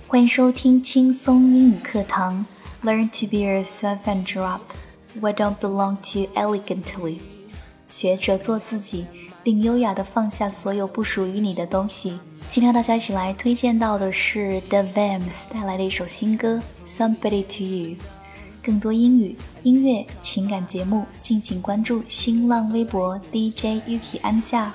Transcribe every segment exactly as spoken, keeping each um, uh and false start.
欢迎收听轻松英语课堂 Learn to be yourself and drop what don't belong to you elegantly 学着做自己并优雅地放下所有不属于你的东西。今天大家一起来推荐到的是 The Vamps 带来的一首新歌 Somebody to You。 更多英语、音乐、情感节目敬请关注新浪微博 D J Yuki 安夏。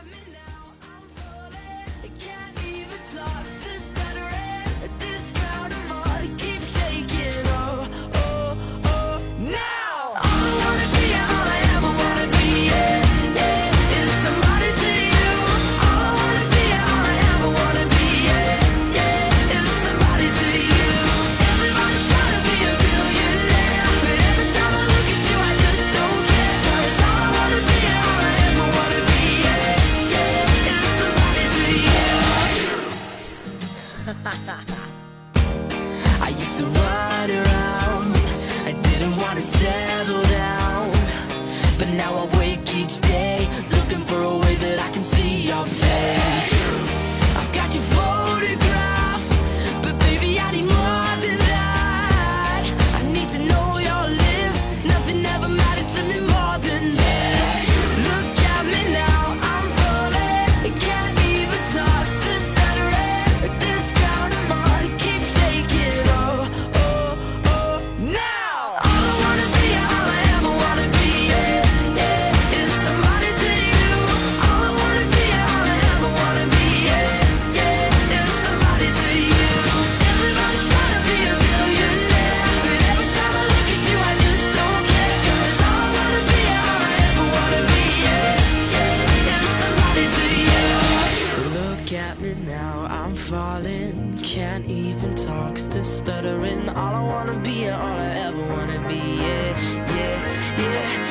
I used to run around, I didn't want to settle down, but now I wake each day looking for a way that I can see your face. I've got your photograph, but baby I need more than that. I need to know your lips, nothing ever mattered to me more than this. Look at me now, I'm falling, can't even touch the stuttering, this ground I'm on, keep shaking, oh, oh, oh, now. All I wanna be, all I ever wanna be, yeah, yeah, is somebody to you. All I wanna be, all I ever wanna be, yeah, yeah, is somebody to you. Everybody's trying to be a billionaire, but every time I look at you I just don't care. 'Cause all I wanna be, all I ever wanna be, yeah, yeah, is somebody to you. Look at me now, I'm falling, can't even talk, still stuttering. All I wanna be, all I ever wanna be, yeah, yeah, yeah.